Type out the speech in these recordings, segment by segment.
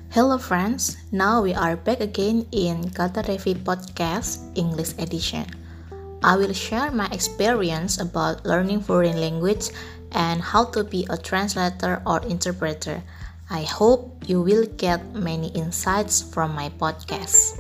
Hello friends, now we are back again in Kata Revi Podcast English Edition. I will share my experience about learning foreign language and how to be a translator or interpreter. I hope you will get many insights from my podcast.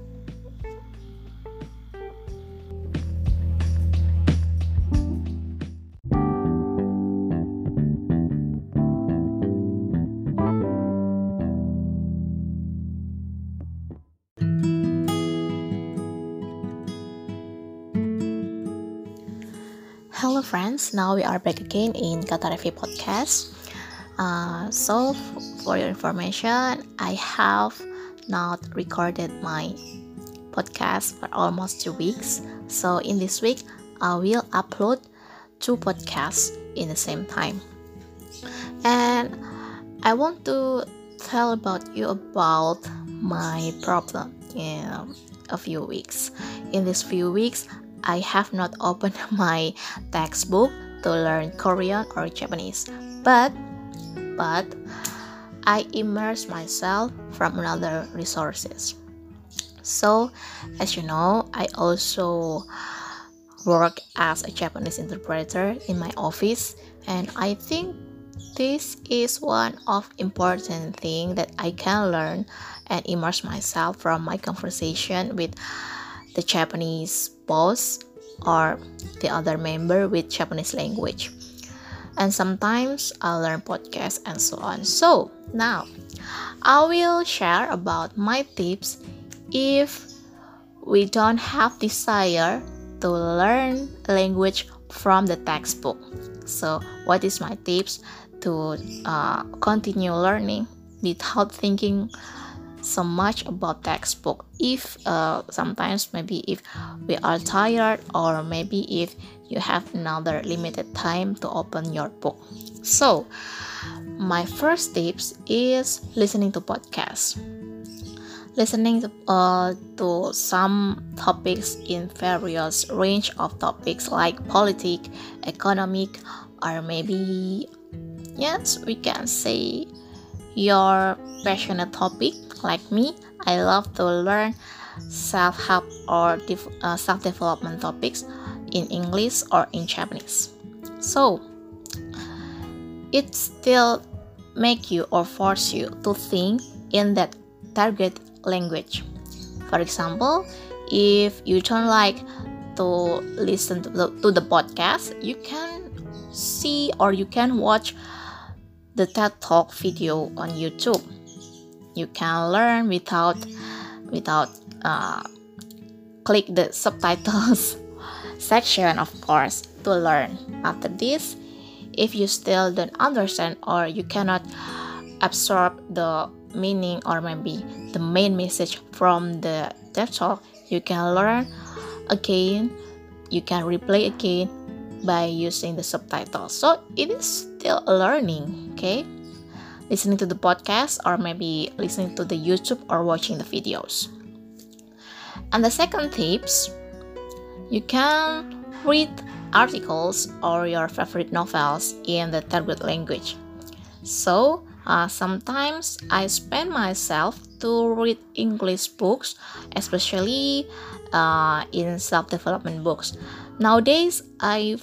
Hello friends, now we are back again in Kata Revi Podcast. For your information, I have not recorded my podcast for almost 2 weeks. So in this week, I will upload 2 podcasts in the same time. And I want to tell you about my problem in a few weeks. In these few weeks, I have not opened my textbook to learn Korean or Japanese, but I immerse myself from other resources. So, as you know, I also work as a Japanese interpreter in my office, and I think this is one of important thing that I can learn and immerse myself from my conversation with the Japanese boss or the other member with Japanese language. And sometimes I learn podcasts and so on. So now I will share about my tips if we don't have desire to learn language from the textbook. So what is my tips to continue learning without thinking so much about textbook? If sometimes maybe if we are tired, or maybe if you have another limited time to open your book. So my first tips is listening to podcasts. Listening to some topics in various range of topics like politics, economic, or maybe yes, we can say your passionate topic. Like me, I love to learn self-help or self-development topics in English or in Japanese. So it still make you or force you to think in that target language. For example, if you don't like to listen to the podcast, you can see or you can watch the TED Talk video on YouTube. You can learn without click the subtitles section, of course, to learn. After this, if you still don't understand or you cannot absorb the meaning or maybe the main message from the TED Talk, you can learn again. You can replay again by using the subtitles. So it is still learning, okay? Listening to the podcast or maybe listening to the YouTube or watching the videos. And the second tips, you can read articles or your favorite novels in the target language. So sometimes I spend myself to read English books, especially in self-development books. Nowadays, I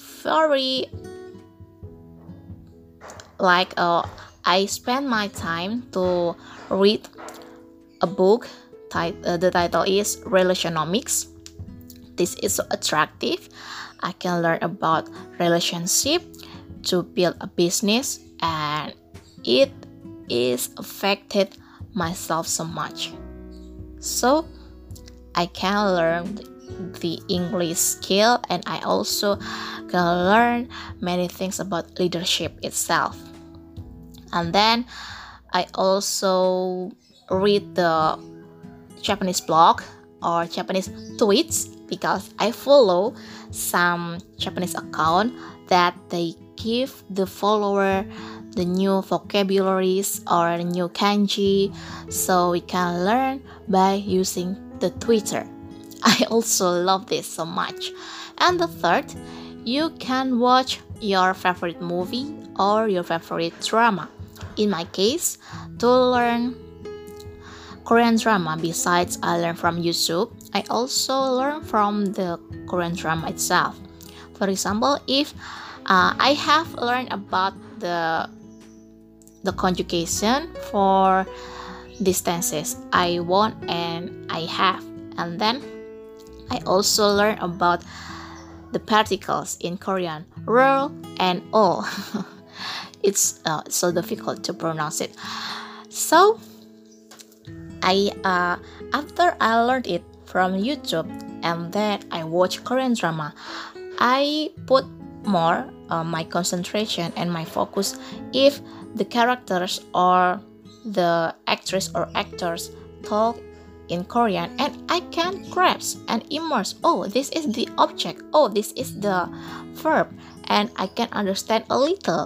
spend my time to read a book. The title is Relationomics. This is so attractive. I can learn about relationship to build a business, and it is affected myself so much. So I can learn the English skill, and I also can learn many things about leadership itself. And then I also read the Japanese blog or Japanese tweets, because I follow some Japanese account that they give the follower the new vocabularies or new kanji, so we can learn by using the Twitter. I also love this so much. And the third, you can watch your favorite movie or your favorite drama. In my case, to learn Korean drama. Besides I learn from YouTube, I also learn from the Korean drama itself. For example, if I have learned about the conjugation for these tenses, I want and I have, and then I also learn about the particles in Korean, 를 and ol. It's so difficult to pronounce it. So after I learned it from YouTube and then I watch Korean drama, I put more my concentration and my focus if the characters or the actress or actors talk in Korean, and I can grasp and immerse. Oh, this is the object. Oh, this is the verb, and I can understand a little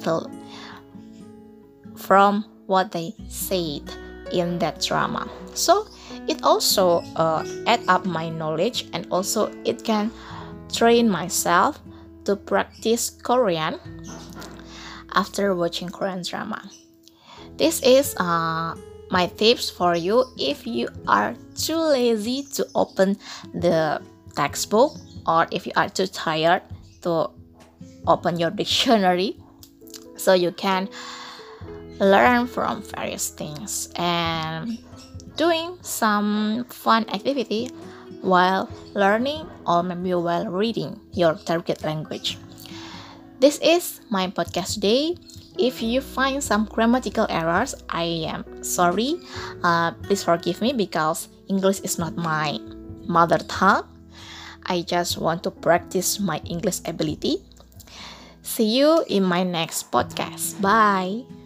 from what they said in that drama. So it also add up my knowledge, and also it can train myself to practice Korean after watching Korean drama. This is my tips for you if you are too lazy to open the textbook, or if you are too tired to open your dictionary, so you can learn from various things and doing some fun activity while learning, or maybe while reading your target language. This is my podcast today. If you find some grammatical errors, I am sorry. Please forgive me because English is not my mother tongue. I just want to practice my English ability. See you in my next podcast. Bye.